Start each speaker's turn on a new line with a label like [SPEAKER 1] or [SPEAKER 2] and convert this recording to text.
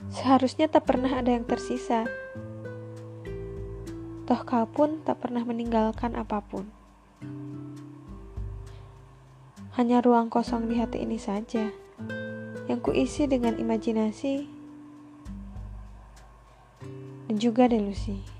[SPEAKER 1] Seharusnya tak pernah ada yang tersisa. Toh kau pun tak pernah meninggalkan apapun. Hanya ruang kosong di hati ini saja yang kuisi dengan imajinasi dan juga delusi.